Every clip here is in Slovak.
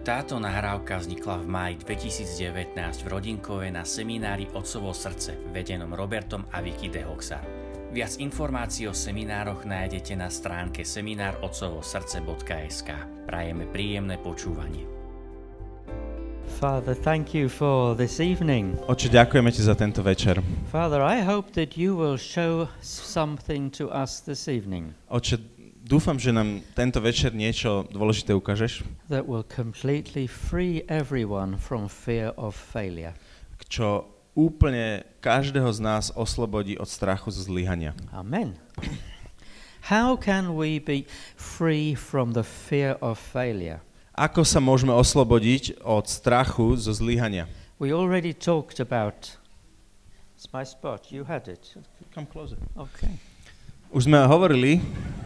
Táto nahrávka vznikla v máji 2019 v Rodinkove na seminári Otcovo srdce, vedenom Robertom a Vicky de Hoxar. Viac informácií o seminároch nájdete na stránke seminárotcovosrdce.sk. Prajeme príjemné počúvanie. Father, thank you for this evening. Oče, ďakujeme ti za tento večer. Father, I hope that you will show something to us this evening. Oče, dúfam, že nám tento večer niečo dôležité ukážeš. That will completely free everyone from fear of failure. Čo úplne každého z nás oslobodí od strachu zo zlyhania. Amen. How can we be free from the fear of failure? Ako sa môžeme oslobodiť od strachu zo zlyhania? We already talked about... It's my spot. You had it. Come closer. Okay. Už sme hovorili...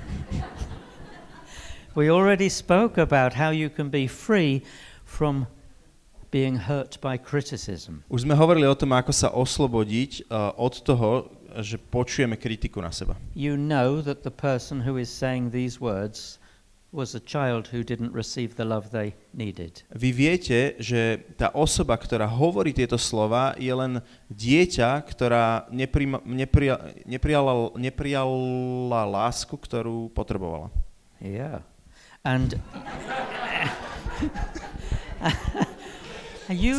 We already spoke about how you can be free from being hurt by criticism. Už sme hovorili o tom, ako sa oslobodiť od toho, že počujeme kritiku na seba. You know that the person who is saying these words was a child who didn't receive the love they needed. Vy viete, že tá osoba, ktorá hovorí tieto slova, je len dieťa, ktorá neprijala lásku, ktorú potrebovala. Yeah. And you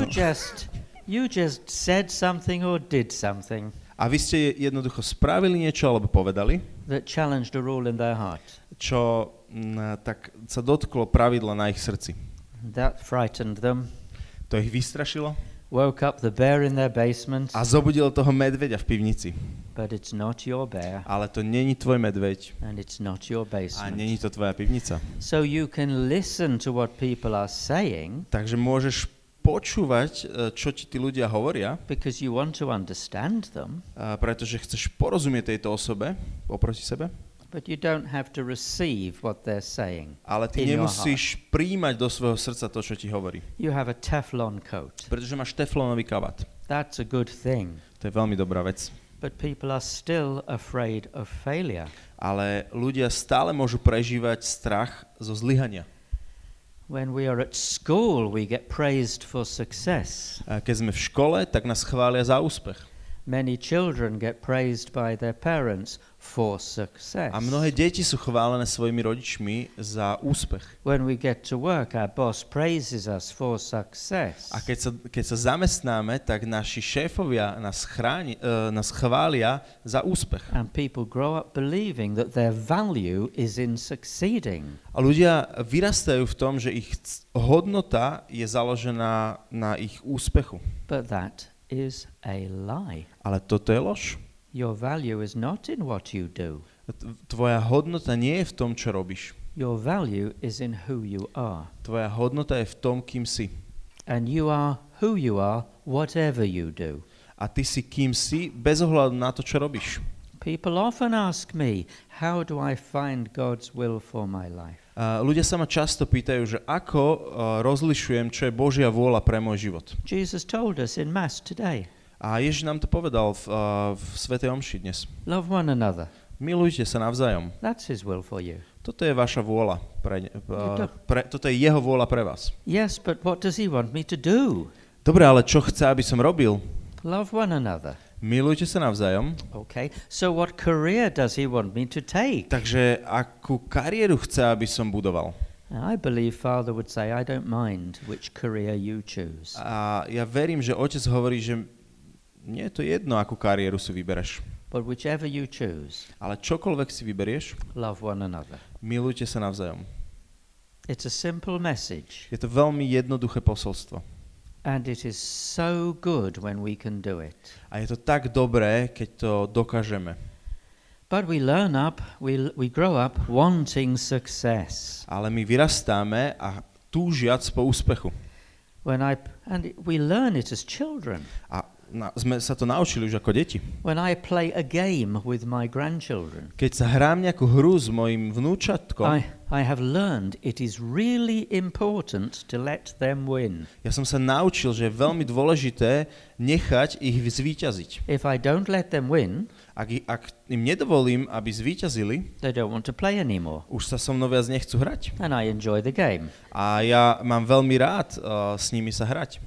just said something or did something. A vy ste jednoducho spravili niečo alebo povedali, that challenged a rule in their heart. Čo tak sa dotklo pravidla na ich srdci. That frightened them. To ich vystrašilo. Woke up the bear in their basement. A zobudilo toho medveďa v pivnici. But it's not your bear. Ale to není tvoj medveď. And it's not your basement. A není to tvoja pivnica. So you can listen to what people are saying. Takže môžeš počúvať, čo ti tí ľudia hovoria. Because you want to understand them. Pretože chceš porozumieť tejto osobe oproti sebe. But you don't have to receive what they're saying. Ale ty nemusíš prijímať do svojho srdca to, čo ti hovorí. You have a Teflon coat. Pretože máš teflonový kabát. That's a good thing. To je veľmi dobrá vec. But people are still afraid of failure. Ale ľudia stále môžu prežívať strach zo zlyhania. When we are at school, we get praised for success. Keď sme v škole, tak nás chvália za úspech. Many children get praised by their parents for success. A mnohé deti sú chválené svojimi rodičmi za úspech. When we get to work, our boss praises us for success. A keď sa zamestnáme, tak naši šéfovia nás chvália za úspech. And people grow up believing that their value is in succeeding. A ľudia vyrastajú v tom, že ich hodnota je založená na ich úspechu. But that is a lie. Ale toto je lož. Your value is not in what you do. Tvoja hodnota nie je v tom, čo robíš. Your value is in who you are. Tvoja hodnota je v tom, kým si. And you are who you are, whatever you do. A ty si kým si, bez ohľadu na to, čo robíš. People often ask me, how do I find God's will for my life? Ľudia sa ma často pýtajú, že ako rozlišujem, čo je Božia vôľa pre môj život. Jesus told us in Mass today. A Ježiš nám to povedal v Svätej omši dnes. Love one another. Milujte sa navzájom. That's his will for you. Toto je vaša vôľa. Toto je jeho vôľa pre vás. Yes, but what does he want me to do? Dobre, ale čo chce, aby som robil? Love one another. Milujte sa navzájom. Okay, so what career does he want me to take? Takže akú kariéru chce, aby som budoval? I believe Father would say, I don't mind which career you choose. A ja verím, že otec hovorí, že nie je to jedno, akú kariéru si vybereš. But whichever you choose, ale čokoľvek si vyberieš, love one another. Milujte sa navzájom. It's a simple message. Je to veľmi jednoduché posolstvo. And it is so good when we can do it. A je to tak dobré, keď to dokážeme. But we we grow up wanting success. Ale my vyrastáme a túžiac po úspechu. And we learn it as children. A sme sa to naučili už ako deti. When I play a game with my grandchildren. Keď sa hrám nejakú hru s mojim vnúčatkom, I have learned it is really important to let them win. Ja som sa naučil, že je veľmi dôležité nechať ich zvíťaziť. If I don't let them win, Ak im nedovolím, aby zvíťazili, they don't want to play anymore. už sa so mnou viac nechcú hrať. And I enjoy the game. A ja mám veľmi rád s nimi sa hrať.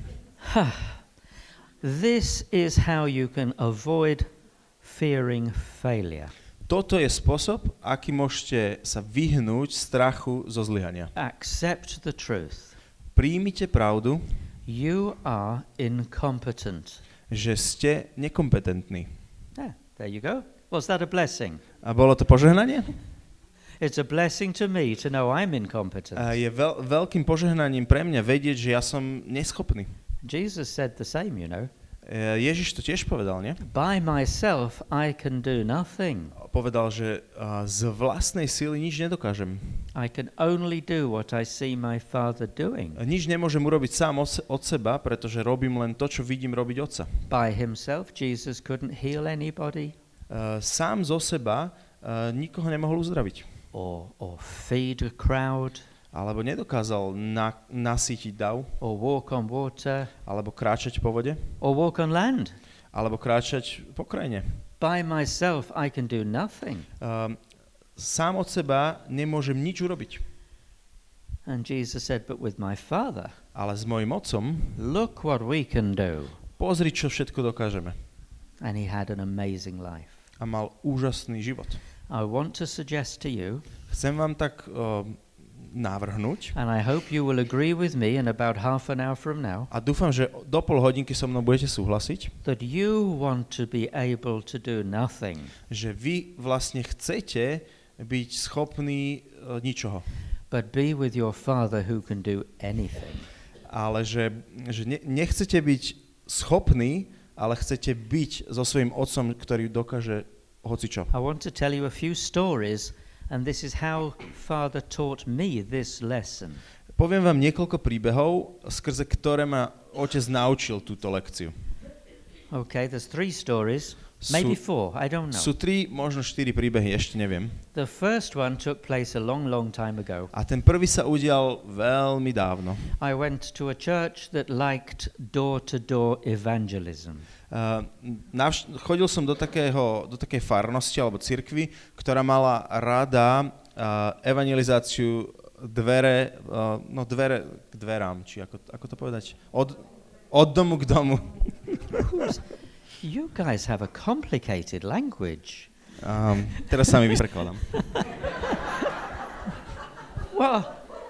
This is how you can avoid fearing failure. Toto je spôsob, aký môžete sa vyhnúť strachu zo zlyhania. Accept the truth. Príjmite pravdu, You are incompetent. že ste nekompetentní. Yeah, there you go. Was that a blessing? A bolo to požehnanie? It's a blessing to me to know I'm incompetent. A je veľkým požehnaním pre mňa vedieť, že ja som neschopný. Jesus said the same, you know. Ježiš to tiež povedal, nie? By myself I can do nothing. Povedal, že z vlastnej síly nič nedokážem. I can only do what I see my Father doing. Nič nemôžem urobiť sám od seba, pretože robím len to, čo vidím robiť Otca. By himself Jesus couldn't heal anybody. Sám zo seba nikoho nemohol uzdraviť. Or feed a crowd. Alebo nedokázal nasýtiť dav. Or walk on water. Alebo kráčať po vode. Or walk on land. Alebo kráčať po krajine. By myself I can do nothing. Sám od seba nemôžem nič urobiť. And Jesus said, but with my Father, Ale s mojim Otcom, look what we can do. pozri, čo všetko dokážeme. And he had an amazing life. A mal úžasný život. I want to suggest to you, Chcem vám tak navrhnúť, and I hope you will agree with me in about half an hour from now, a dúfam, že do pol hodinky so mnou budete súhlasiť, that you want to be able to do nothing, že vy vlastne chcete byť schopní ničoho. but be with your Father who can do anything. Ale že nechcete byť schopní, ale chcete byť so svojím Otcom, ktorý dokáže hocičo. I want to tell you a few stories, and this is how Father taught me this lesson. Poviem vám niekoľko príbehov, skrze ktoré ma Otec naučil túto lekciu. Okay, there's 3 stories, maybe 4, I don't know. Sú 3, možno 4 príbehy, ešte neviem. The first one took place a long, long time ago. A ten prvý sa udial veľmi dávno. I went to a church that liked door-to-door evangelism. Chodil som do takej farnosti alebo cirkvi, ktorá mala rada evangelizáciu dvere k dverám, či ako to povedať? Od domu k domu. You guys have a complicated language. Teraz sa mi vysrekladám. Well,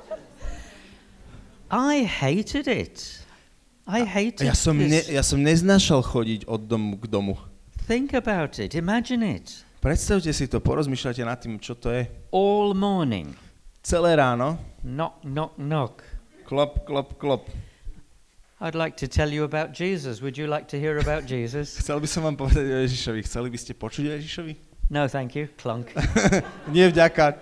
I hated it. Ja som neznášal chodiť od domu k domu. Think about it. Imagine it. Predstavte si to, porozmýšľajte nad tým, čo to je. All morning. Celé ráno. Knock, knock, knock. Klop, klop, klop. I'd like to tell you about Jesus. Would you like to hear about Jesus? Chcel by som vám povedať o Ježišovi. Chceli by ste počuť o Ježišovi? No, thank you. Clunk. Nie vďaka.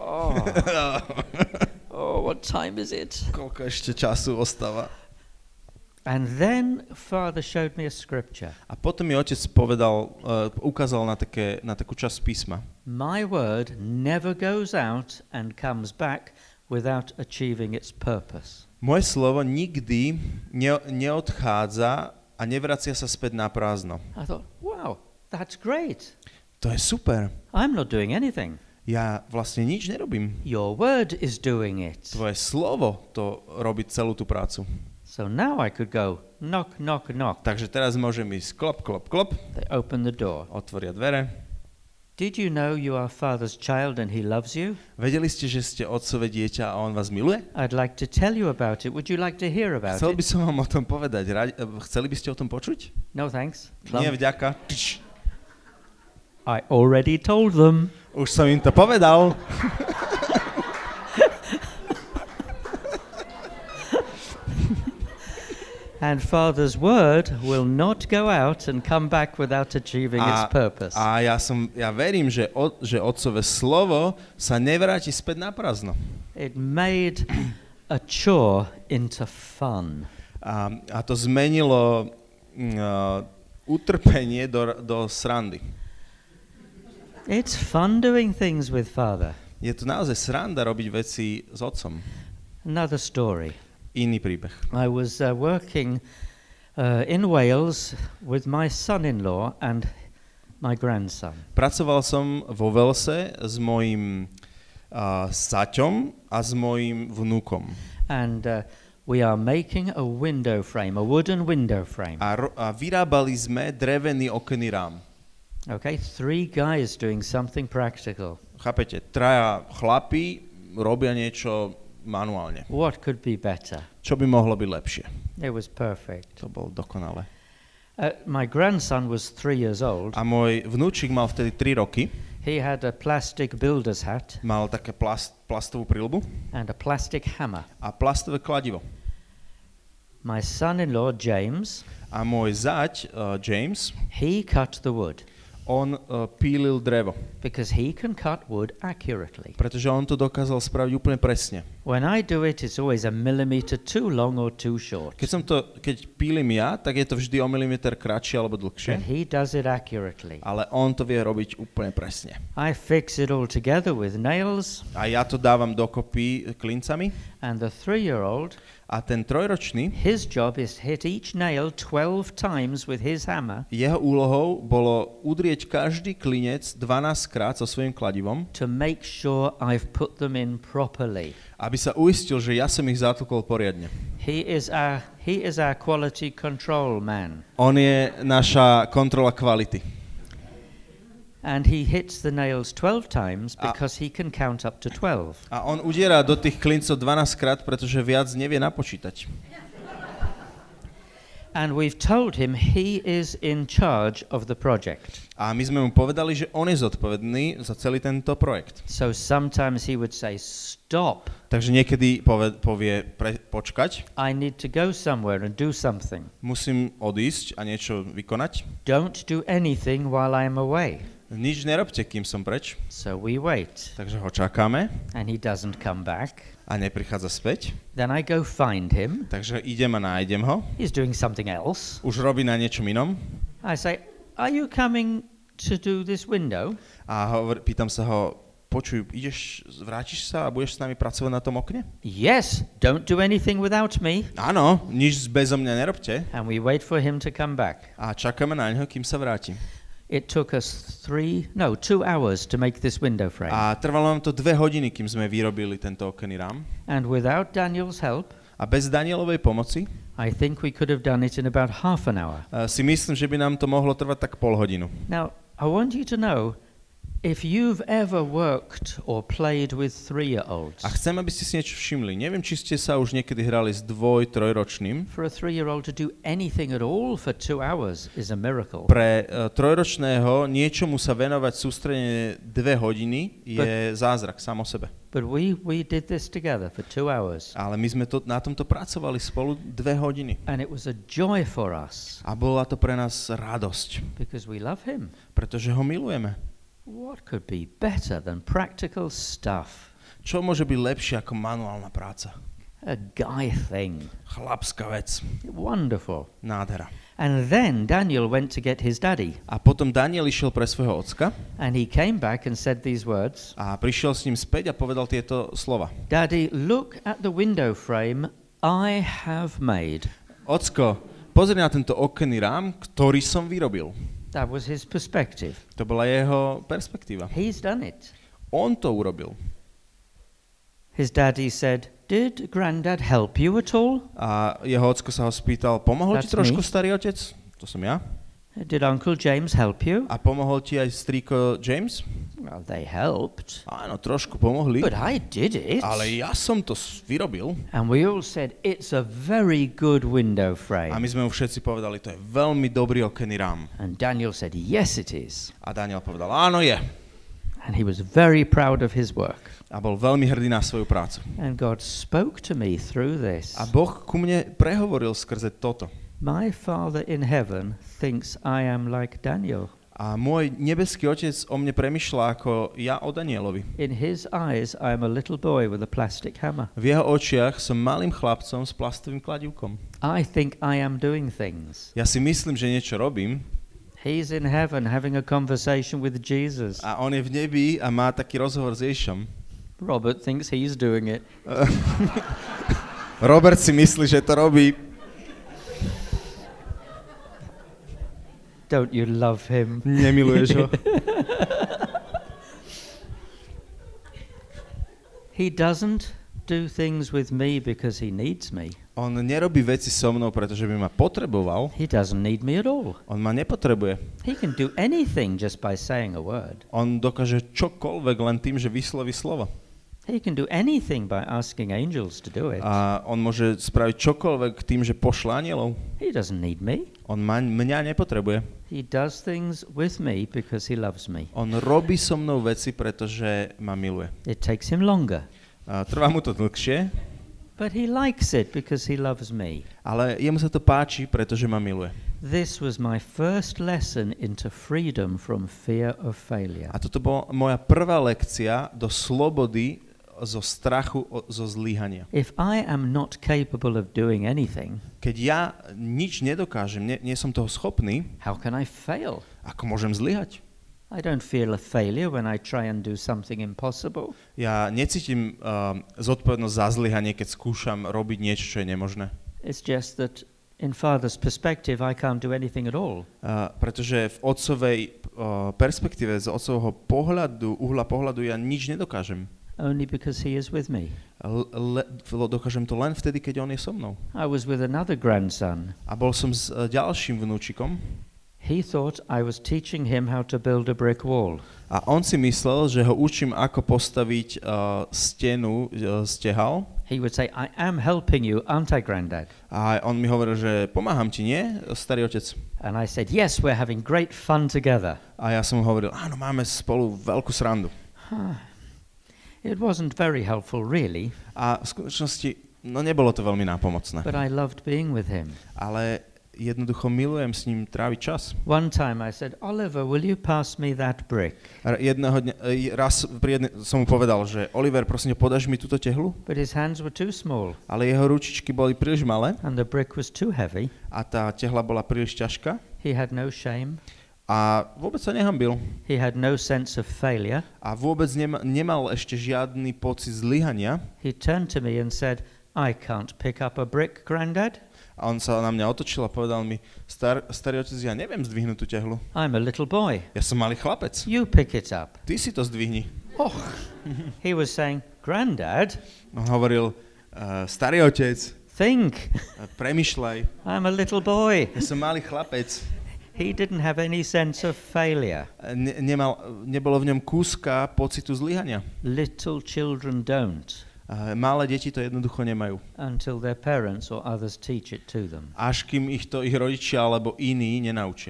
Oh, what time is it? Koľko ešte času ostáva? And then Father showed me a scripture. A potom mi Otec ukázal na takú časť písma. My word never goes out and comes back without achieving its purpose. Moje slovo nikdy neodchádza a nevracia sa späť na prázdno. I thought, wow, that's great. To je super. I'm not doing anything. Ja vlastne nič nerobím. Your word is doing it. Tvoje slovo to robí celú tú prácu. So now I could go knock, knock, knock. Takže teraz môžem ísť klop, klop, klop. They open the door. Otvoria dvere. Did you know you are Father's child and he loves you? Vedeli ste, že ste otcové dieťa a on vás miluje? I'd like to tell you about it. Would you like to hear about Chcel by it? som vám o tom povedať. Chceli by ste o tom počuť? No thanks. Nie, Plum. vďaka. I already told them. Už som im to povedal. And Father's word will not go out and come back without achieving its purpose. A ja verím, že Otcové slovo sa nevráti späť na prázdno. It made a chore into fun. A to zmenilo utrpenie do srandy. It's fun doing things with Father. Je to naozaj sranda robiť veci s Otcom. Another story. Iný príbeh. I was working in Wales with my son-in-law and my grandson. Pracoval som vo Velse s mojím saťom a s mojím vnúkom. And we are making a window frame, a wooden window frame. A vyrábali sme drevený okenný rám. Okay, 3 guys doing something practical. Chápete, 3 chlapi robia niečo manuálne. What could be better? Čo by mohlo byť lepšie? It was perfect. To bolo dokonalé. My grandson was 3 years old. A môj vnúčik mal vtedy 3 roky. He had a plastic builder's hat Mal také plastovú prilbu and a plastic hammer. a plastové kladivo. My son-in-law, James, A môj zať, James, he cut the wood on pílil drevo, because he can cut wood accurately. pretože on to dokázal spraviť úplne presne. When I do it, it's always a millimeter too long or too short. Keď pílim ja, tak je to vždy o milimeter kratšie alebo And dlhšie, he does it accurately. ale on to vie robiť úplne presne. I fix it all together with nails, A ja to dávam dokopy klincami and the 3-year-old, a ten 3-ročný, his job is hit each nail 12 times with his hammer jeho úlohou bolo udrieť každý klinec 12 krát so svojím kladivom, to make sure I've put them in properly. aby sa uistil, že ja som ich zatlkol poriadne. He is our quality control man. On je naša kontrola kvality. And he hits the nails 12 times because he can count up to 12. A on udiera do tých klincov 12 krát, pretože viac nevie napočítať. And we've told him he is in charge of the project. A my sme mu povedali, že on je zodpovedný za celý tento projekt. So sometimes he would say, stop, Takže niekedy povie počkať, I need to go somewhere and do something. musím odísť a niečo vykonať. Don't do anything while I'm away. Nič nerobte, kým som preč. So we wait. Takže ho čakáme And he doesn't come back. a neprichádza späť. Then I go find him. Takže idem a nájdem ho. He's doing something else. Už robí na niečom inom. I say, are you coming to do this window? A pýtam sa ho, počuj, vrátiš sa a budeš s nami pracovať na tom okne? Yes, don't do anything without me. Áno, nič bezo mňa nerobte. And we wait for him to come back. A čakáme na ňo, kým sa vráti. It took us 2 hours to make this window frame. A trvalo nám to 2 hodiny, kým sme vyrobili tento okenný rám. And without Daniel's help, A bez Danielovej pomoci I think we could have done it in about half an hour. si myslím, že by nám to mohlo trvať tak pol hodinu. Now, I want you to know, if you've ever worked or played with 3-year-olds, A chcem, aby ste si niečo všimli. Neviem, či ste sa už niekedy hrali s 2-3-ročným. for a 3-year-old to do anything at all for 2 hours is a miracle. Pre trojročného niečomu sa venovať sústredene 2 hodiny je zázrak sám o sebe. But we did this together for 2 hours. Ale my sme na tomto pracovali spolu 2 hodiny. And it was a joy for us A bola to pre nás radosť, because we love him. pretože ho milujeme. What could be better than practical stuff? Čo môže byť lepšie ako manuálna práca? A guy thing. Chlapská vec. Wonderful. Nádhera. And then Daniel went to get his daddy. A potom Daniel išiel pre svojho ocka And he came back and said these words. a prišiel s ním späť a povedal tieto slova. Daddy, look at the window frame I have made. Ocko, pozri na tento okenný rám, ktorý som vyrobil. That was his perspective. To bola jeho perspektíva. He's done it. On to urobil. His daddy said, did Granddad help you at all? A jeho ocko sa ho spýtal, pomohol ti That's trošku me. starý otec? To som ja. Did Uncle James help you? A pomohol ti aj strýko James? Well, they helped. Áno, trošku pomohli. But I did it. Ale ja som to vyrobil. And we all said, it's a very good window A frame. my sme mu všetci povedali, to je veľmi dobrý okenný rám. And Daniel said, yes, it is. A Daniel povedal, áno je. And he was very proud of his work. A bol veľmi hrdý na svoju prácu. And God spoke to me through this. A Boh ku mne prehovoril skrze toto. My Father in heaven thinks I am like Daniel. A môj nebeský otec o mne premýšľa ako ja o Danielovi. In his eyes, I am a little boy with a plastic hammer. V jeho očiach som malým chlapcom s plastovým kladivkom. I think I am doing things. Ja si myslím, že niečo robím He's in heaven having a conversation with Jesus. a on je v nebi a má taký rozhovor s Ježišom. Robert thinks he's doing it. Robert si myslí, že to robí. Don't you love him? Nemiluješ ho? He doesn't do things with me because he needs me. On nerobí veci so mnou, pretože by ma potreboval. He doesn't need me at all. On ma nepotrebuje. He can do anything just by saying a word. On dokáže čokoľvek len tým, že vysloví slovo. He can do anything by asking angels to do it. A on môže spraviť čokoľvek tým, že pošle anielov. He doesn't need me. On mňa nepotrebuje. He does things with me because he loves me. On robí so mnou veci, pretože ma miluje. It takes him longer. Trvá mu to dlhšie, But he likes it because he loves me. ale jemu sa to páči, pretože ma miluje. This was my first lesson into freedom from fear of failure. A toto bola moja prvá lekcia do slobody zo strachu, zo zlyhania. If I am not capable of doing anything, Keď ja nič nedokážem, nie som toho schopný, how can I fail? ako môžem zlyhať? I don't feel a failure when I try and do something impossible. Ja necítim zodpovednosť za zlyhanie, keď skúšam robiť niečo, čo je nemožné. It's just that in Father's perspective, I can't do anything at all. Pretože v otcovej perspektíve, z otcovho uhla pohľadu ja nič nedokážem. Only because he is with me. Dokážem to len vtedy, keď on je so mnou. I was with another grandson. A bol som s ďalším vnúčikom. He thought I was teaching him how to build a brick wall. A on si myslel, že ho učím, ako postaviť stenu z tehál. He would say, I am helping you, aren't I, Grandad? A on mi hovoril, že pomáham ti, nie, starý otec? And I said, yes, we're having great fun together. A ja som mu hovoril, áno, máme spolu veľkú srandu. It wasn't very helpful, really. A v skutočnosti, nebolo to veľmi nápomocné. But I loved being with him. Ale jednoducho milujem s ním tráviť čas. One time I said, Oliver, will you pass me that brick? Raz som mu povedal, že Oliver, prosím, podáš mi túto tehlu? But his hands were too small. Ale jeho ručičky boli príliš malé. And the brick was too heavy. A tá tehla bola príliš ťažká. He had no shame. A vôbec sa nehanbil. He had no sense of failure. A vôbec nemal ešte žiadny pocit zlyhania. He turned to me and said, I can't pick up a brick, Grandad. A on sa na mňa otočil a povedal mi, starý otec, ja neviem zdvihnúť tú tehlu. I'm a little boy. Ja som malý chlapec. You pick it up. Ty si to zdvihni. Oh. He was saying, Grandad. On hovoril, starý otec, think. Premýšľaj. I'm a little boy. Ja som malý chlapec. He didn't have any sense of failure. Nebolo v ňom kúska pocitu zlyhania. Little children don't. Malé deti to jednoducho nemajú. Until their parents or others teach it to them. Až kým ich rodičia alebo iní nenaučia.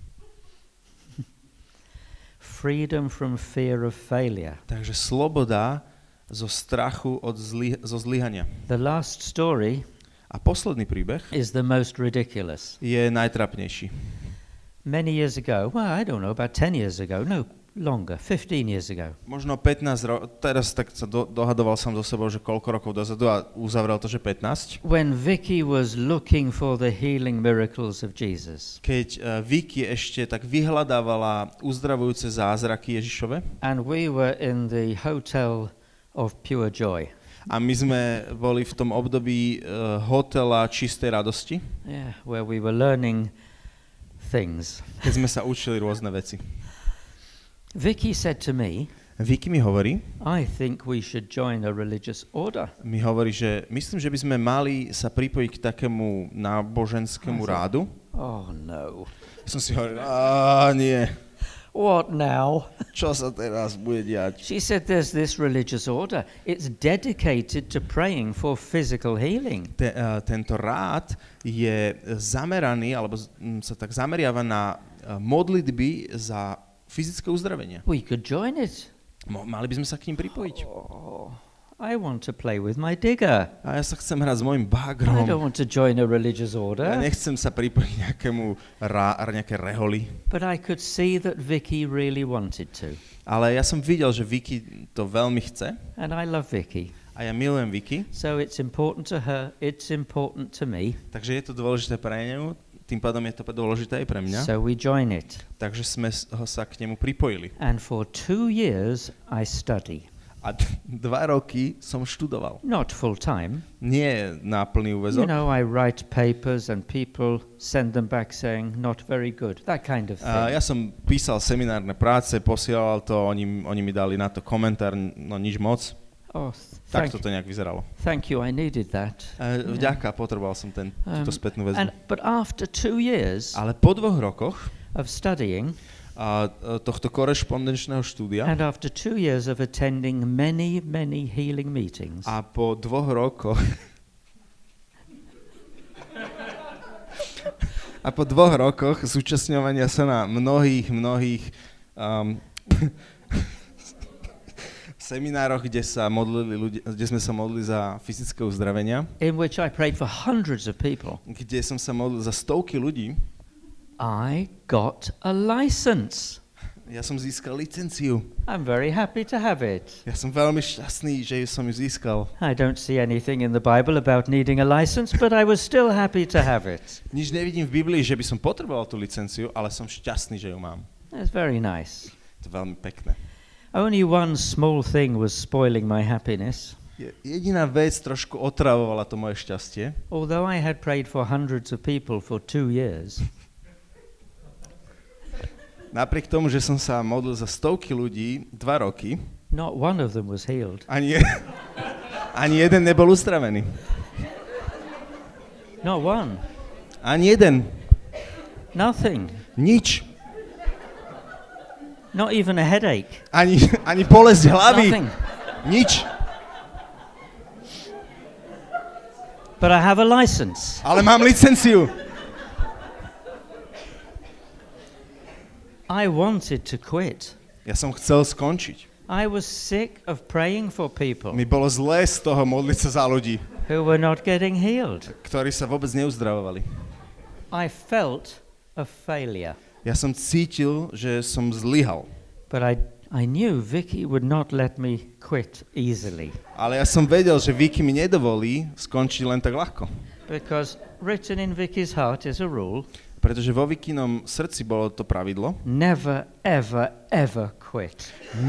Freedom from fear of failure. Takže sloboda zo strachu zo zlyhania. The last story a posledný príbeh is the most ridiculous. Je najtrapnejší. Many years ago, well, I don't know, about 10 years ago, no, longer, 15 years ago. Možno 15 rokov, teraz tak sa dohadoval som so sebou, že koľko rokov dozadu a uzavrel to, že 15. When Vicky was looking for the healing miracles of Jesus. Keď Vicky ešte tak vyhľadávala uzdravujúce zázraky Ježišove. And we were in the hotel of Pure Joy. A my sme boli v tom období hotela čistej radosti. Yeah, where we were learning things. Keď sme sa učili rôzne veci. Vicky said to me, Vicky mi hovorí, I think we should join a religious order. Mi hovorí, že myslím, že by sme mali sa pripojiť k takému náboženskému rádu. Oh no. Som si hovoril, nie. What now? Čo sa teraz bude diať? She said there's this religious order. It's dedicated to praying for physical healing. Tento rád je zameraný, alebo sa tak zameriava na modlitby za fyzické uzdravenie. We could join it. Mali by sme sa k ním pripojiť. Oh, I want to play with my digger. A ja sa chcem hrať s mojim bagrom. I don't want to join a religious order. Ja nechcem sa pripojiť nejaké reholi. But I could see that Vicky really wanted to. Ale ja som videl, že Vicky to veľmi chce. And I love Vicky. A ja milujem Vicky. So it's important to her, it's important to me. Takže je to dôležité pre ňu. Tým pádom je to dôležité aj pre mňa. So we join it. Takže sme sa k nemu pripojili. And for 2 years I study. A 2 roky som študoval. Not full time. Nie na plný You úväzok. know, I write papers and people send them back saying not very good. That kind of thing. Ja som písal seminárne práce, posielal to, oni mi dali na to komentár, no nič moc. Oh, Tak to nejak vyzeralo. thank you, I needed that. Vďaka, potreboval som túto spätnú väzbu. But after 2 years Ale po 2 rokoch of studying tohto korešpondenčného štúdia and after 2 years of attending many, many healing meetings, a po 2 rokoch zúčastňovania sa na mnohých seminároch, kde sme sa modlili za fyzické uzdravenia, in which I prayed for hundreds of people, kde som sa modlil za stovky ľudí, I got a license. ja som získal licenciu. I'm very happy to have it. Ja som veľmi šťastný, že som ju získal. I don't see anything in the Bible about needing a license, but I was still happy to have it. Nič nevidím v Biblii, že by som potreboval tú licenciu, ale som šťastný, že ju mám. That's very nice. To je veľmi pekné. Only one small thing was spoiling my happiness. Jediná vec trošku otravovala to moje šťastie. Although I had prayed for hundreds of people for 2 years, Napriek tomu, že som sa modlil za stovky ľudí 2 roky, not one of them was healed. ani jeden nebol uzdravený. Not one. Ani jeden. Nothing. Nič. Not even a headache. Ani bolesť hlavy. Nothing. Nič. But I have a license. Ale mám licenciu. I wanted to quit. Ja som chcel skončiť. I was sick of praying for people Mi bolo zlé z toho modliť sa za ľudí, who were not getting healed. ktorí sa vôbec neuzdravovali. I felt a failure. Ja som cítil, že som zlyhal. But I knew Vicky would not let me quit easily. Ale ja som vedel, že Vicky mi nedovolí skončiť len tak ľahko. Because written in Vicky's heart is a rule, Pretože vo Vikinom srdci bolo to pravidlo. never, ever, ever quit.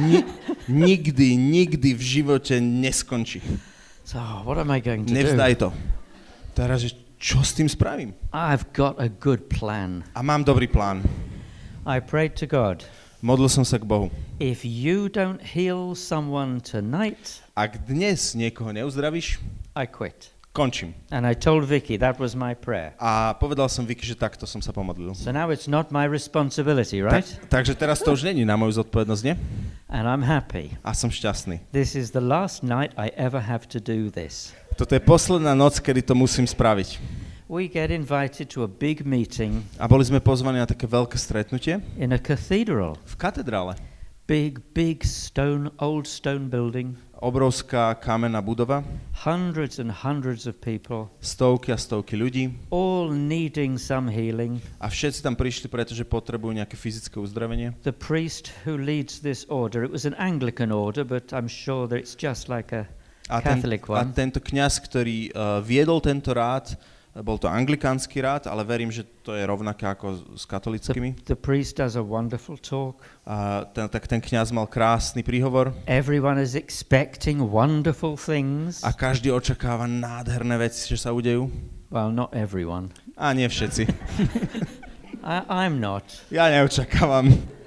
Nikdy v živote neskončí. So what am I going to Nevzdaj do? to. Teraz, čo s tým spravím? I've got a good plan. A mám dobrý plán. I prayed to God, Modlil som sa k Bohu. if you don't heal someone tonight, Ak dnes niekoho neuzdravíš, I quit. končím. And I told Vicky that was my prayer. A povedal som Vicky, že takto som sa pomodlil. So now it's not my responsibility, right? Takže teraz to už není na moju zodpovednosť, nie? And I'm happy. A som šťastný. This is the last night I ever have to do this. Toto je posledná noc, kedy to musím spraviť. We get invited to a big meeting A boli sme pozvaní na také veľké stretnutie in a cathedral. v katedrále. Big old stone building. Obrovská kamenná budova, Hundreds and hundreds of people, stovky a stovky ľudí all needing some healing. a všetci tam prišli, pretože potrebujú nejaké fyzické uzdravenie. The priest who leads this order, it was an Anglican order, but I'm sure that it's just like a Catholic A one. tento kňaz, ktorý viedol tento rád, bol to anglikánsky rád, ale verím, že to je rovnaké ako s katolickými. The priest does a wonderful talk. A ten kňaz mal krásny príhovor Everyone is expecting wonderful things. a každý očakáva nádherné veci, že sa udejú. Well, not everyone. A nie všetci. I'm not. Ja neočakávam.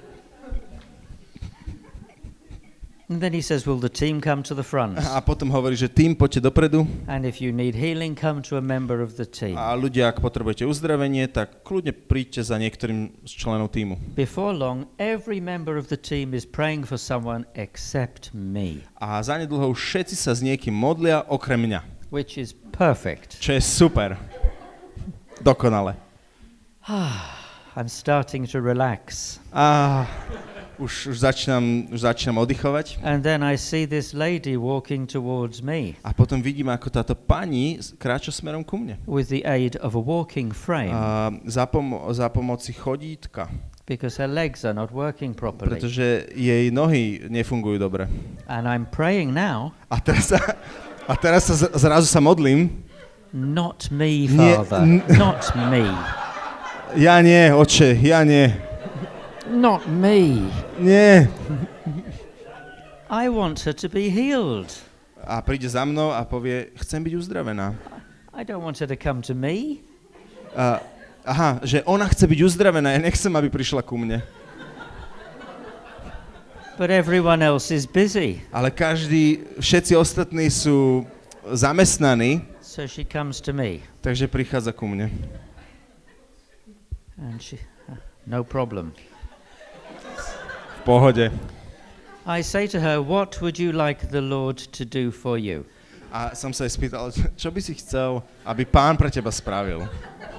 And then he says, will the team come to the front? A potom hovorí, že tým, poďte dopredu. And if you need healing, come to a member of the team. A ľudia, ak potrebujete uzdravenie, tak kľudne príďte za niektorým z členov tímu. Before long, every member of the team is praying for someone except me, A zanedlho už všetci sa s niekým modlia, okrem mňa. which is perfect. Čo je super. Dokonale. I'm starting to relax. Už začínam oddychovať. And then I see this lady walking towards me A potom vidím, ako táto pani kráča smerom ku mne. with the aid of a walking frame Za pomoci chodítka. because her legs are not working properly. Pretože jej nohy nefungujú dobre. And I'm praying now, A teraz sa zrazu sa modlím. not me, Nie, Father, not me, Ja nie, oče, ja nie. not me. Nie. I want her to be healed. A príde za mnou a povie, chcem byť uzdravená. I don't want her to come to me. Že ona chce byť uzdravená, ja nechcem, aby prišla ku mne. But everyone else is busy. Ale všetci ostatní sú zamestnaní, So she comes to me. takže prichádza ku mne. And no problem. V pohode. I say to her, what would you like the Lord to do for you? A som sa jej spýtal, čo by si chcel, aby Pán pre teba spravil?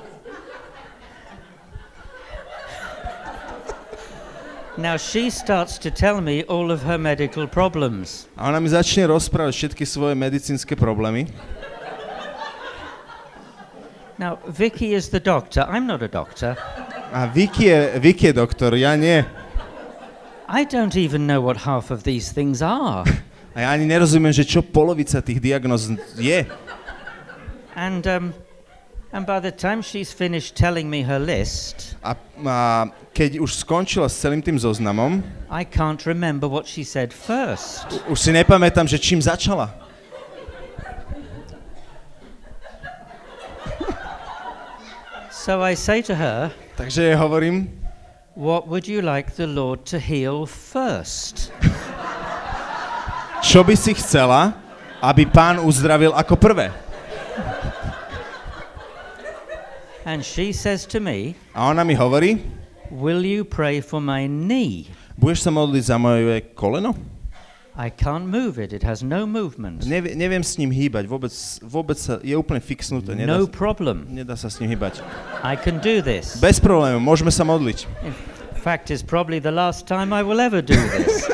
Now she starts to tell me all of her medical problems. A ona mi začne rozprávať všetky svoje medicínske problémy. Now Vicky is the doctor. I'm not a doctor. A Vicky je doktor, ja nie. I don't even know what half of these things are. A ja ani nerozumiem, že čo polovica tých diagnóz je. And by the time she's finished telling me her list, A keď už skončila s celým tým zoznamom, I can't remember what she said first. už si nepamätám, že čím začala. So I say to her, Takže jej hovorím, what would you like the Lord to heal first? čo by si chcela, aby Pán uzdravil ako prvé? And she says to me, A ona mi hovorí, will you pray for my knee? budeš sa modliť za moje koleno? I can't move it. It has no movement. Neviem s ním hýbať, vôbec sa, je úplne fixnuté. No problem. Nedá sa s ním hýbať. I can do this. Bez problémov, môžeme sa modliť. In fact, it's probably the last time I will ever do this.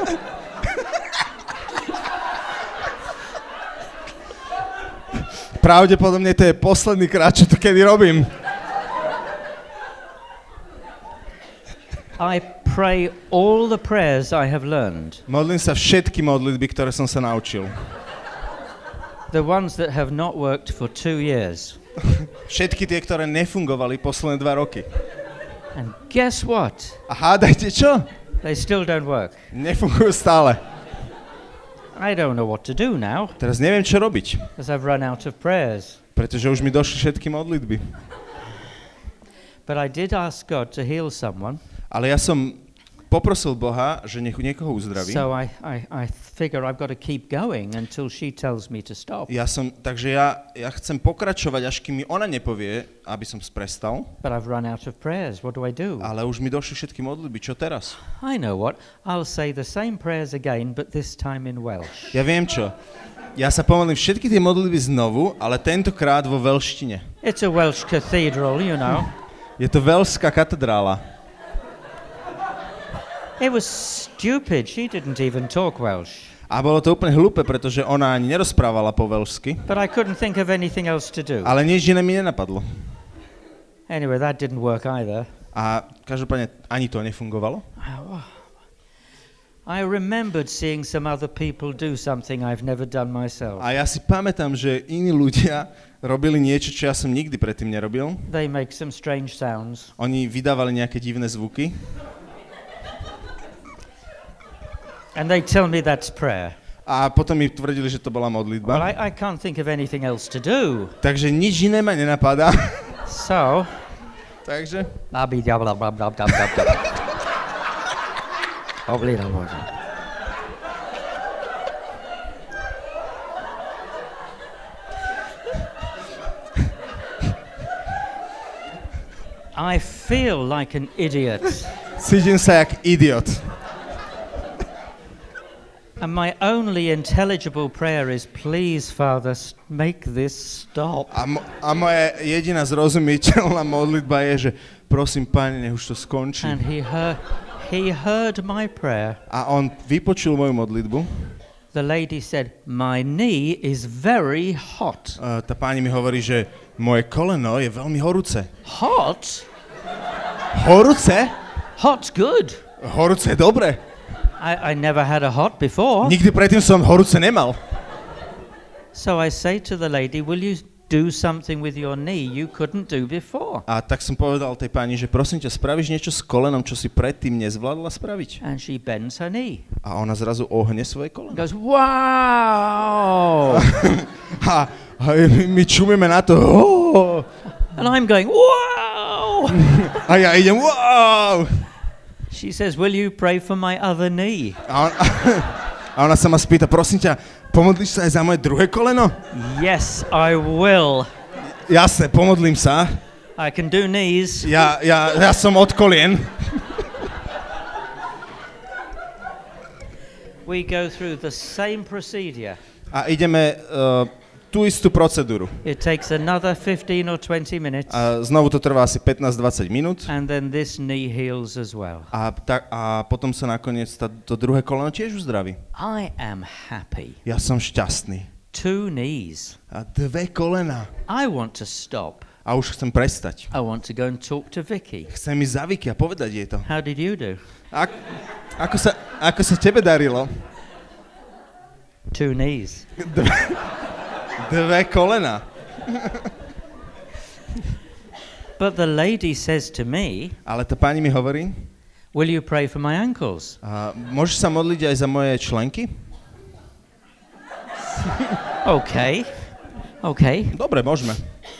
Pravdepodobne to je posledný krát, čo to kedy robím. I pray all the prayers I have learned. Modlím sa všetky modlitby, ktoré som sa naučil. The ones that have not worked for 2 years. Všetky tie, ktoré nefungovali posledné 2 roky. And guess what? A hádajte čo? They still don't work. Nefungujú stále. I don't know what to do now, Teraz neviem, čo robiť, because I've run out of prayers. pretože už mi došli všetky modlitby. But I did ask God to heal someone. Ale ja som poprosil Boha, že nech niekoho uzdraví. So I figure I've got to keep going until she tells me to stop. Takže ja chcem pokračovať, až kým mi ona nepovie, aby som prestal. But I've run out of prayers. What do I do? Ale už mi došli všetky modlitby. Čo teraz? I know what. I'll say the same prayers again, but this time in Welsh. Ja viem čo. Ja sa pomodlím všetky tie modlitby znovu, ale tentokrát vo veľštine. It's a Welsh cathedral, you know. Je to veľšská katedrála. It was stupid. She didn't even talk Welsh. A bolo to úplne hlúpe, pretože ona ani nerozprávala po veľšsky. But I couldn't think of anything else to do. Ale nič iné mi nenapadlo. Anyway, that didn't work either. A každopádne ani to nefungovalo. I remembered seeing some other people do something I've never done myself. A ja si pamätám, že iní ľudia robili niečo, čo ja som nikdy predtým nerobil. They make some strange sounds. Oni vydávali nejaké divné zvuky. And they tell me that's prayer. A potom mi tvrdili, že to bola modlitba. Well, I can't think of anything else to do. Takže nič iné ma nenapadá. So, Takže? I feel like an idiot. Cítim sa jak idiot. And my only intelligible prayer is, please, Father, make this stop. A moja jediná zrozumiteľná modlitba je, že prosím, Pane, nech už to skončí. And he heard my prayer. A on vypočul moju modlitbu. The lady said, my knee is very hot. Tá pani mi hovorí, že moje koleno je veľmi horúce. Hot? Horúce? Hot's good. Horúce je dobre. I never had a hot before. Nikdy predtým som horúce nemal. So I say to the lady, will you do something with your knee you couldn't do before. A tak som povedal tej pani, že prosím ťa, spravíš niečo s kolenom, čo si predtým nezvládla spraviť? And she bends her knee. A ona zrazu ohne svoje koleno. Goes, wow! A my čumíme na to. Oh! And I'm going, wow! A ja idem, wow! She says, will you pray for my other knee? A ona sa ma spýta, prosím ťa, pomodlíš sa aj za moje druhé koleno? Yes, I will. Jasne, pomodlím sa. I can do knees. Ja som od kolien. We go through the same procedure. A ideme tú istú procedúru. It takes another 15 or 20 minutes. A znovu to trvá asi 15-20 minút. And then this knee heals as well. A potom sa nakoniec to druhé koleno tiež uzdraví. I am happy. Ja som šťastný. 2 knees. A 2 kolena. I want to stop. A už chcem prestať. I want to go and talk to Vicky. Chcem ísť za Vicky a povedať jej to. How did you do? Ako sa tebe darilo? 2 knees. 2 kolena. But the lady says to me, Ale tá pani mi hovorí, will you pray for my ankles? môžeš sa modliť aj za moje členky? Okay. Dobre, môžeme.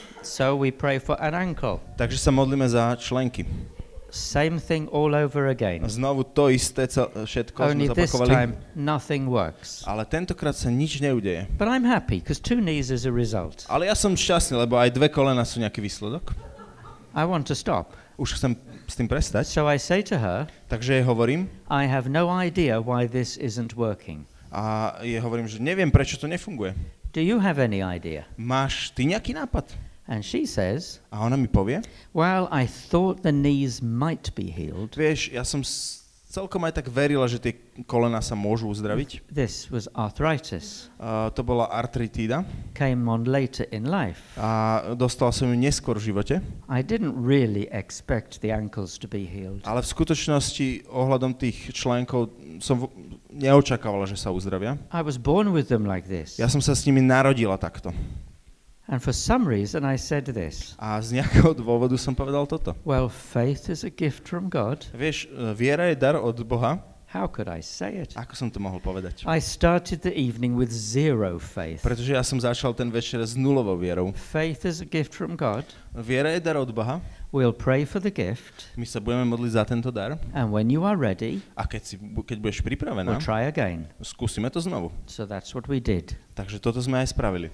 So we pray for an ankle. Takže sa modlíme za členky. Same thing all over again. Znovu to isté, všetko Only sme this zopakovali. time nothing works. Ale tentokrát sa nič neudeje. But I'm happy because 2 knees is a result. Ale ja som šťastný, lebo aj 2 kolena sú nejaký výsledok. I want to stop. Už chcem s tým prestať. So I say to her, Takže jej hovorím. I have no idea why this isn't working. A jej hovorím, že neviem, prečo to nefunguje. Do you have any idea? Máš ty nejaký nápad? And she says, A ona mi povie. well, I thought the knees might be healed. Vieš, ja som celkom aj tak verila, že tie kolena sa môžu uzdraviť. This was arthritis. To bola artritída. Came on later in life. A dostal som ju neskôr v živote. I didn't really expect the ankles to be healed. Ale v skutočnosti ohľadom tých členkov som neočakávala, že sa uzdravia. I was born with them like this. Ja som sa s nimi narodila takto. And for some reason I said this. A z nejakého dôvodu som povedal toto. Well, faith is a gift from God. Vieš, viera je dar od Boha. How could I say it? Ako som to mohol povedať? I started the evening with 0 faith. Pretože ja som začal ten večer s nulovou vierou. Faith is a gift from God. Viera je dar od Boha. We'll pray for the gift. My sa budeme modliť za tento dar. And when you are ready, A keď budeš pripravená, we'll try again. skúsime to znovu. So that's what we did. Takže toto sme aj spravili.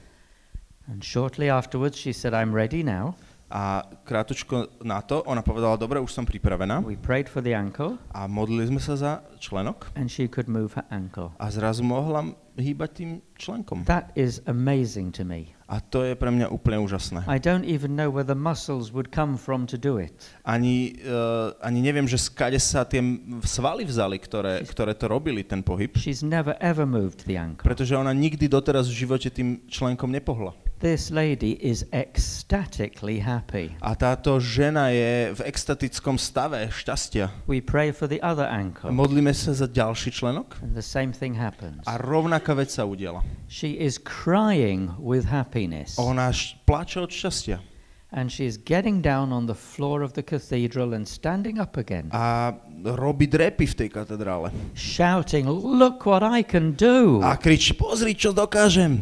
And shortly afterwards she said, I'm ready now. A krátko na to ona povedala, dobre, už som pripravená. We prayed for the ankle A modlili sme sa za členok. and she could move her ankle. A zrazu mohla hýbať tým členkom. That is amazing to me. A to je pre mňa úplne úžasné. I don't even know where the muscles would come from to do it. Ani neviem, že skade sa tie svaly vzali, ktoré to robili, ten pohyb. She's never ever moved the ankle. Pretože ona nikdy doteraz v živote tým členkom nepohla. This lady is ecstatically happy. A táto žena je v extatickom stave šťastia. We pray for the other ankle Modlíme sa za ďalší členok and the same thing happens. a rovnaká vec sa udiela. She is crying with happiness. Ona plače od šťastia. And she is getting down on the floor of the cathedral and standing up again. A robí drepy v tej katedrále. Shouting, look what I can do. A kričí, pozri, čo dokážem.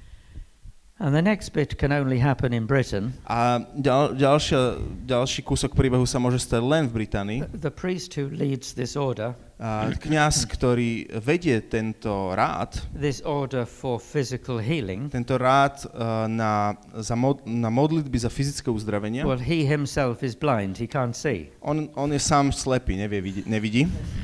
And the next bit can only happen in Britain. A ďalší kúsok príbehu sa môže stať len v Británii. The priest who leads this order, Kňaz, ktorý vedie tento rád, this order for physical healing, tento rád na modlitby za fyzické uzdravenie, well, he himself is blind, he can't see. on je sám slepý, nevidí.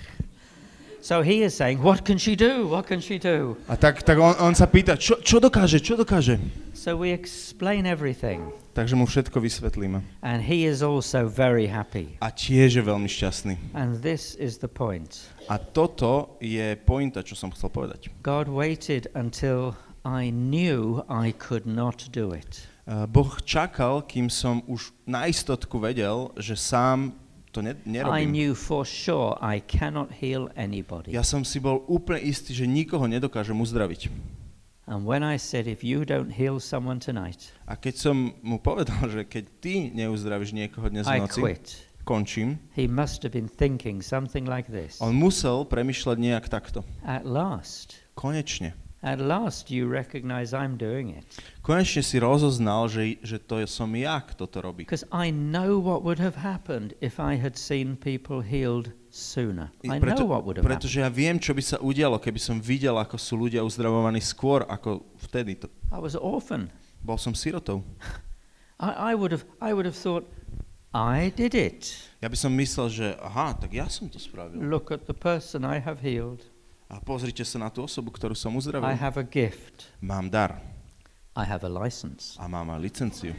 So he is saying, what can she do? What can she do? A tak on sa pýta, čo dokáže? So we explain everything. Takže mu všetko vysvetlíme. And he is also very happy. A tiež je veľmi šťastný. And this is the point. A toto je pointa, čo som chcel povedať. God waited until I knew I could not do it. Boh čakal, kým som už na istotku vedel, že sám to I nerobím. knew for sure I cannot heal anybody. Ja som si bol úplne istý, že nikoho nedokážem uzdraviť. And when I said, if you don't heal someone tonight, A keď som mu povedal, že keď ty neuzdravíš niekoho dnes v I noci, quit. končím, He must have been thinking something like this. on musel premýšľať nejak takto. At last you recognize I'm doing it. Konečne si rozoznal, že to som ja, kto to robí. Because I know what would have happened if I had seen people healed sooner. I know what would have happened. Pretože ja viem, čo by sa udialo, keby som videl, ako sú ľudia uzdravovaní skôr, ako vtedy. I was an orphan. Bol som sirotou. I would have thought, I did it. Ja by som myslel, že aha, tak ja som to spravil. Look at the person I have healed. A pozrite sa na tú osobu, ktorú som uzdravil. I have a gift. Mám dar. I have a license. A mám aj licenciu.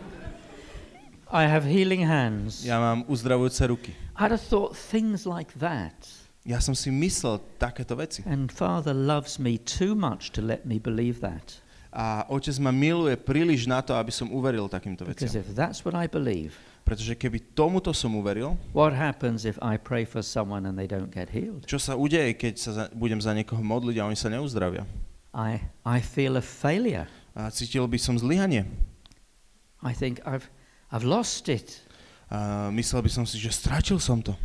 I have healing hands. Ja mám uzdravujúce ruky. I'd have thought things like that. Ja som si myslel takéto veci. And Father loves me too much to let me believe that. A Otec ma miluje príliš na to, aby som uveril takýmto Because veciam. if that's what I believe, Pretože keby tomuto som uveril, what happens if I pray for someone and they don't get healed? čo sa udeje, keď budem za niekoho modliť a oni sa neuzdravia? I feel a failure. A cítil by som zlyhanie. I think I've lost it. A myslel by som si, že strátil som to.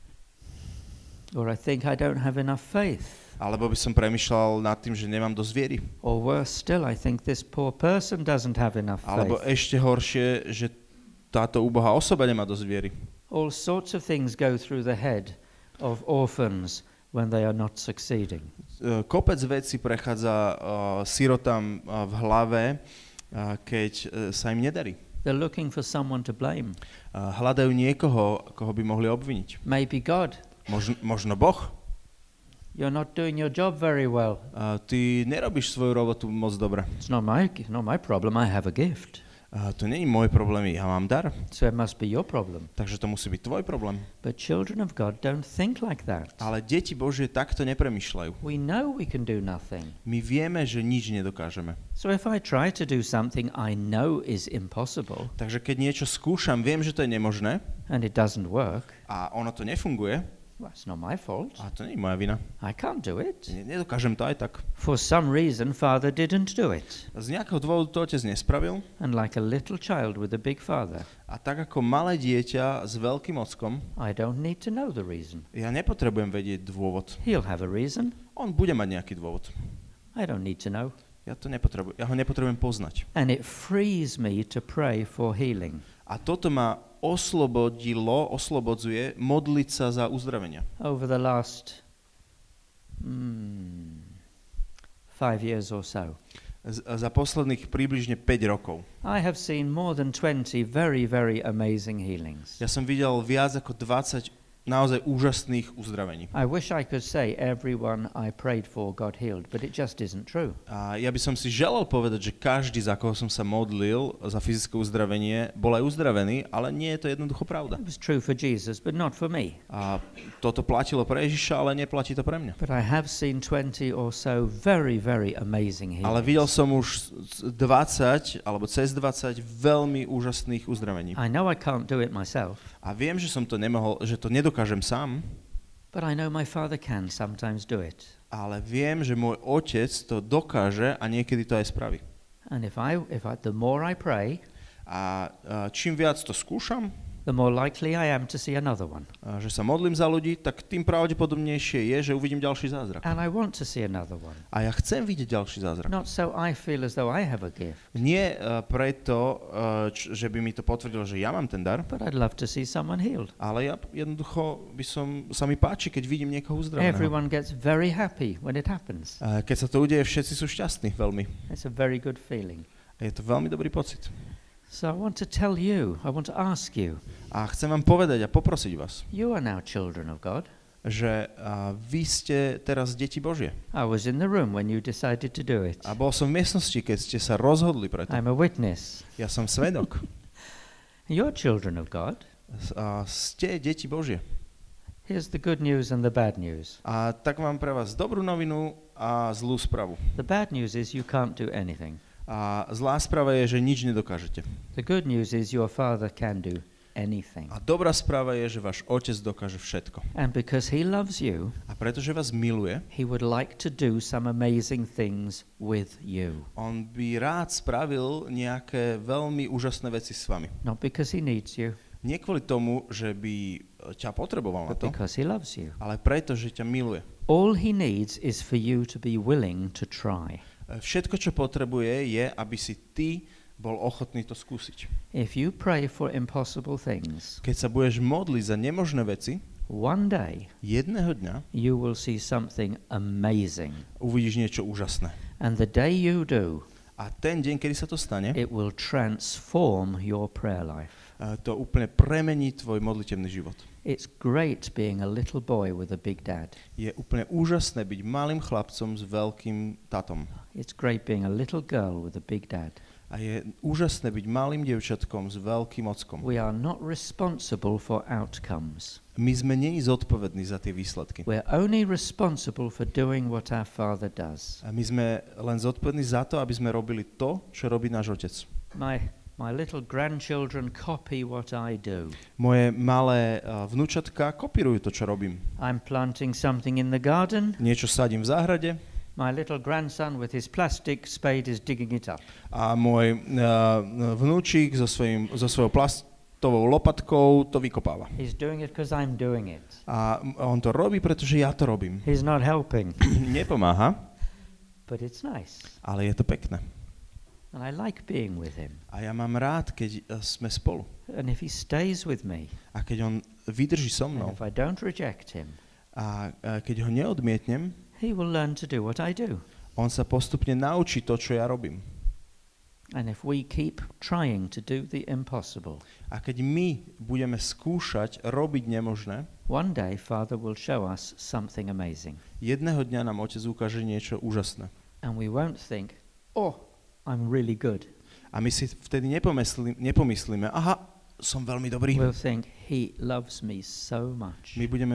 Or I think I don't have enough faith. Alebo by som premýšľal nad tým, že nemám dosť viery. Or worse still, I think this poor person doesn't have enough Alebo faith. ešte horšie, že táto úbohá osoba nemá dosť viery. All sorts of things go through the head of orphans when they are not succeeding. Kopec vecí prechádza sirotám v hlave, keď sa im nedarí. They're looking for someone to blame. Hľadajú niekoho, koho by mohli obviniť. Maybe God. Možno Boh. You're not doing your job very well. Ty nerobíš svoju robotu moc dobre. It's not my problem. I have a gift. To nie je môj problém, ja mám dar. So it must be your problem. Takže to musí byť tvoj problém. But children of God don't think like that. Ale deti Božie takto nepremýšľajú. We know we can do nothing. My vieme, že nič nedokážeme. So if I try to do something I know is impossible Takže keď niečo skúšam, viem, že to je nemožné and it doesn't work, a ono to nefunguje, well, it's not my fault. a to nie je moja vina. I can't do it. Nedokážem to aj tak. For some reason, Father didn't do it. Z nejakého dôvodu to otec nespravil And like a little child with a big father, a tak ako malé dieťa s veľkým ockom, I don't need to know the reason. ja nepotrebujem vedieť dôvod. He'll have a reason. On bude mať nejaký dôvod. I don't need to know. Ja ho nepotrebujem poznať. And it frees me to pray for healing. A toto ma oslobodzuje modliť sa za uzdravenia. Over the last 5 years or so, Za posledných približne 5 rokov. I have seen more than 20 very, very amazing healings. Ja som videl viac ako 20 naozaj úžasných uzdravení. I wish I could say everyone I prayed for got healed, but it just isn't true. A ja by som si želal povedať, že každý, za koho som sa modlil za fyzické uzdravenie, bol aj uzdravený, ale nie je to jednoducho pravda. It was true for Jesus, but not for me. A toto platilo pre Ježiša, ale neplatí to pre mňa. But I have seen 20 or so very, very amazing healings. Ale videl som už 20 alebo cez 20 veľmi úžasných uzdravení. I know I can't do it myself. A viem, že som to nemohol, že to nedokážem sám, But I know my Father can sometimes do it. ale viem, že môj otec to dokáže a niekedy to aj spraví. And the more I pray, A čím viac to skúšam, the more likely I am to see another one. že sa modlím za ľudí, tak tým pravdepodobnejšie je, že uvidím ďalší zázrak. And I want to see another one. A ja chcem vidieť ďalší zázrak. Not so I feel as though I have a gift, Nie preto, že by mi to potvrdilo, že ja mám ten dar, but I'd love to see someone healed. ale ja jednoducho sa mi páči, keď vidím niekoho uzdraveného. Everyone gets very happy when it happens. Keď sa to udeje, všetci sú šťastní veľmi. It's a very good feeling. Je to veľmi dobrý pocit. So I want to tell you, I want to ask you, A chcem vám povedať a poprosiť vás, you are now children of God. že vy ste teraz deti Božie. I was in the room when you decided to do it. A bol som v miestnosti, keď ste sa rozhodli pre to. I'm a witness. Ja som svedok. You're children of God. Ste deti Božie. Here's the good news and the bad news. A tak mám pre vás dobrú novinu a zlú správu. The bad news is you can't do anything. A zlá správa je, že nič nedokážete. The good news is your Father can do anything. A dobrá správa je, že váš otec dokáže všetko. And because he loves you, A pretože vás miluje, he would like to do some amazing things with you. on by rád spravil nejaké veľmi úžasné veci s vami. Not because he needs you, Nie kvôli tomu, že by ťa potreboval na but to, because he loves you. ale preto, že ťa miluje. All he needs is for you to be willing to try. Všetko, čo potrebuje, je, aby si ty bol ochotný to skúsiť. If you pray for impossible things, Keď sa budeš modliť za nemožné veci, one day jedného dňa you will see something amazing. uvidíš niečo úžasné. And the day you do, A ten deň, kedy sa to stane, it will transform your prayer life. to úplne premení tvoj modlitevný život. It's great being a little boy with a big dad. Je úplne úžasné byť malým chlapcom s veľkým tatom. It's great being a little girl with a big dad. A je úžasné byť malým dievčatkom s veľkým ockom. We are not responsible for outcomes. My sme nie zodpovední za tie výsledky. We're only responsible for doing what our Father does. A my sme len zodpovední za to, aby sme robili to, čo robí náš otec. My little grandchildren copy what I do. Moje malé vnúčatka kopírujú to, čo robím. I'm planting something in the garden. Niečo sadím v záhrade My little grandson with his plastic spade is digging it up. a môj vnúčik so svojou plastovou lopatkou to vykopáva. He's doing it because I'm doing it. A on to robí, pretože ja to robím. He's not helping, Nepomáha, but it's nice. ale je to pekné. And I like being with him. A ja mám rád, keď sme spolu. And if he stays with me, A keď on vydrží so and mnou if I don't reject him, a keď ho neodmietnem, he will learn to do what I do. on sa postupne naučí to, čo ja robím. And if we keep trying to do the impossible, A keď my budeme skúšať robiť nemožné, one day Father will show us something amazing. jedného dňa nám otec ukáže niečo úžasné. And we won't think, oh, I'm really good. A my si vtedy nepomyslíme, aha, som veľmi dobrý. We'll think, he loves me so much.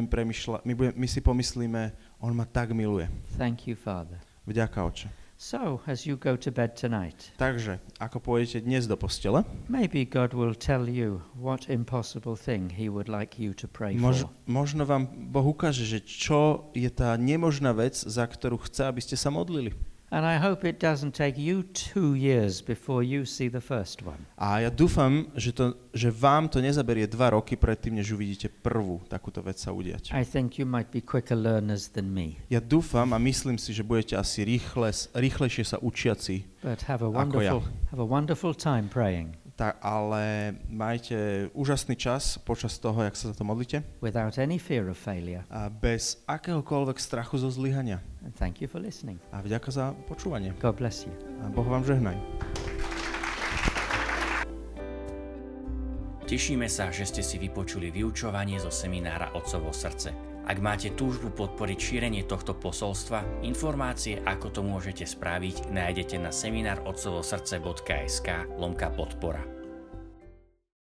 My si pomyslíme, on ma tak miluje. Thank you, Father. Vďaka, Oče. So, as you go to bed tonight, Takže, ako pôjdete dnes do postele, maybe God will tell you what impossible thing he would like you to pray for. možno vám Boh ukáže, že čo je tá nemožná vec, za ktorú chce, aby ste sa modlili. And I hope it doesn't take you 2 years before you see the first one. A ja dúfam, že vám to nezaberie 2 roky predtým, než uvidíte prvú takúto vec sa udiať. I think you might be quicker learners than me. Ja dúfam a myslím si, že budete asi rýchlejšie sa učiaci. But have a Ako wonderful time praying Ale majte úžasný čas počas toho, jak sa za to modlíte. without any fear of failure. A bez akéhokoľvek strachu zo zlyhania. And thank you for listening. A vďaka za počúvanie. God bless you. A Boh vám žehnaj. Tešíme sa, že ste si vypočuli vyučovanie zo seminára Otcovo srdce. Ak máte túžbu podporiť šírenie tohto posolstva, informácie, ako to môžete spraviť, nájdete na seminárotcovosrdce.sk/podpora.